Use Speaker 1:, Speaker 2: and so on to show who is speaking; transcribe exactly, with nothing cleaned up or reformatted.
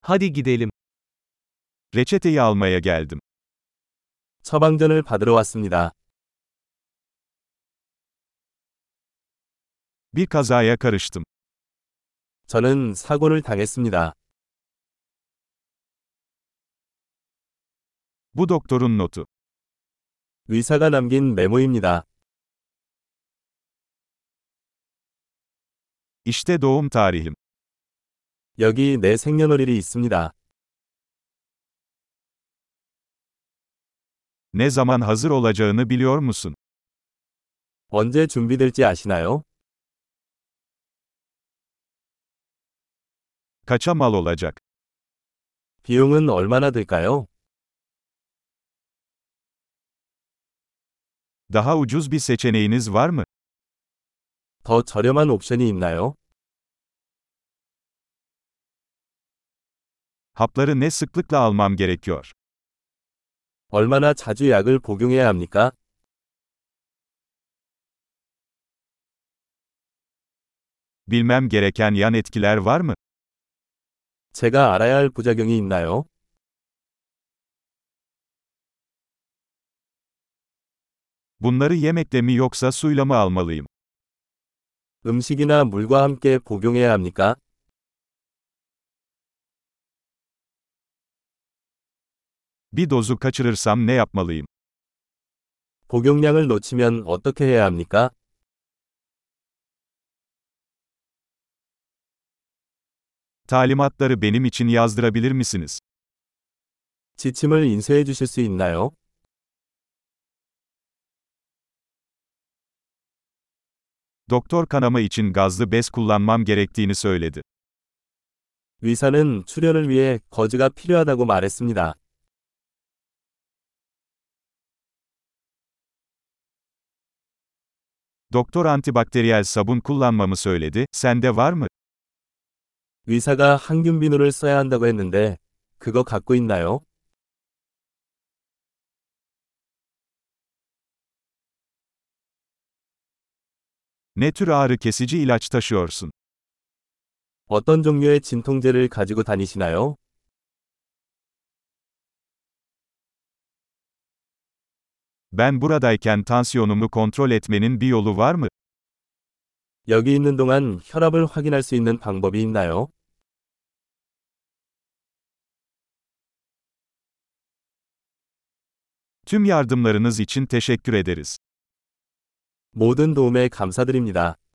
Speaker 1: Hadi gidelim.
Speaker 2: Reçeteyi almaya geldim.
Speaker 3: 처방전을 받으러 왔습니다.
Speaker 2: Bir kazaya karıştım.
Speaker 3: 저는 사고를 당했습니다.
Speaker 2: Bu doktorun notu.
Speaker 3: 의사가 남긴 메모입니다.
Speaker 2: İşte doğum tarihim.
Speaker 3: 여기 내 생년월일이 있습니다.
Speaker 2: Ne zaman hazır olacağını biliyor musun?
Speaker 3: 언제 준비될지 아시나요?
Speaker 2: Kaça mal olacak?
Speaker 3: 비용은 얼마나 들까요?
Speaker 2: Daha ucuz bir seçeneğiniz var mı?
Speaker 3: 더 저렴한 옵션이 있나요?
Speaker 2: Hapları ne sıklıkla almam gerekiyor?
Speaker 3: 얼마나 자주 약을 복용해야 합니까?
Speaker 2: Bilmem gereken yan etkiler var mı?
Speaker 3: 제가 알아야 할 부작용이 있나요?
Speaker 2: Bunları yemekle mi yoksa suyla mı almalıyım?
Speaker 3: 음식이나 물과 함께 복용해야 합니까?
Speaker 2: Bir dozu kaçırırsam ne yapmalıyım?
Speaker 3: 복용량을 놓치면 어떻게 해야 합니까?
Speaker 2: Talimatları benim için yazdırabilir misiniz?
Speaker 3: 지침을 인쇄해 주실 수 있나요?
Speaker 2: Doktor kanama için gazlı bez kullanmam gerektiğini söyledi.
Speaker 3: 의사는 출혈을 위해 거즈가 필요하다고 말했습니다.
Speaker 2: Doktor antibakteriyel sabun kullanmamı söyledi, sende var mı?
Speaker 3: 의사가 항균 비누를 써야 한다고 했는데, 그거 갖고 있나요?
Speaker 2: Ne tür ağrı kesici ilaç taşıyorsun?
Speaker 3: 어떤 종류의 진통제를 가지고 다니시나요?
Speaker 2: Ben buradayken tansiyonumu kontrol etmenin bir yolu var mı?
Speaker 3: 여기 있는 동안 혈압을 확인할 수 있는 방법이 있나요?
Speaker 2: Tüm yardımlarınız için teşekkür ederiz.
Speaker 3: 모든 도움에 감사드립니다.